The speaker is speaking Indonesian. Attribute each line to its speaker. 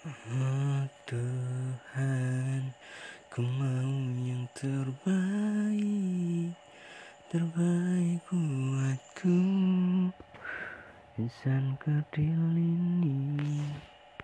Speaker 1: Oh Tuhan, ku mau yang terbaik, terbaik buatku. Insan kerdil ini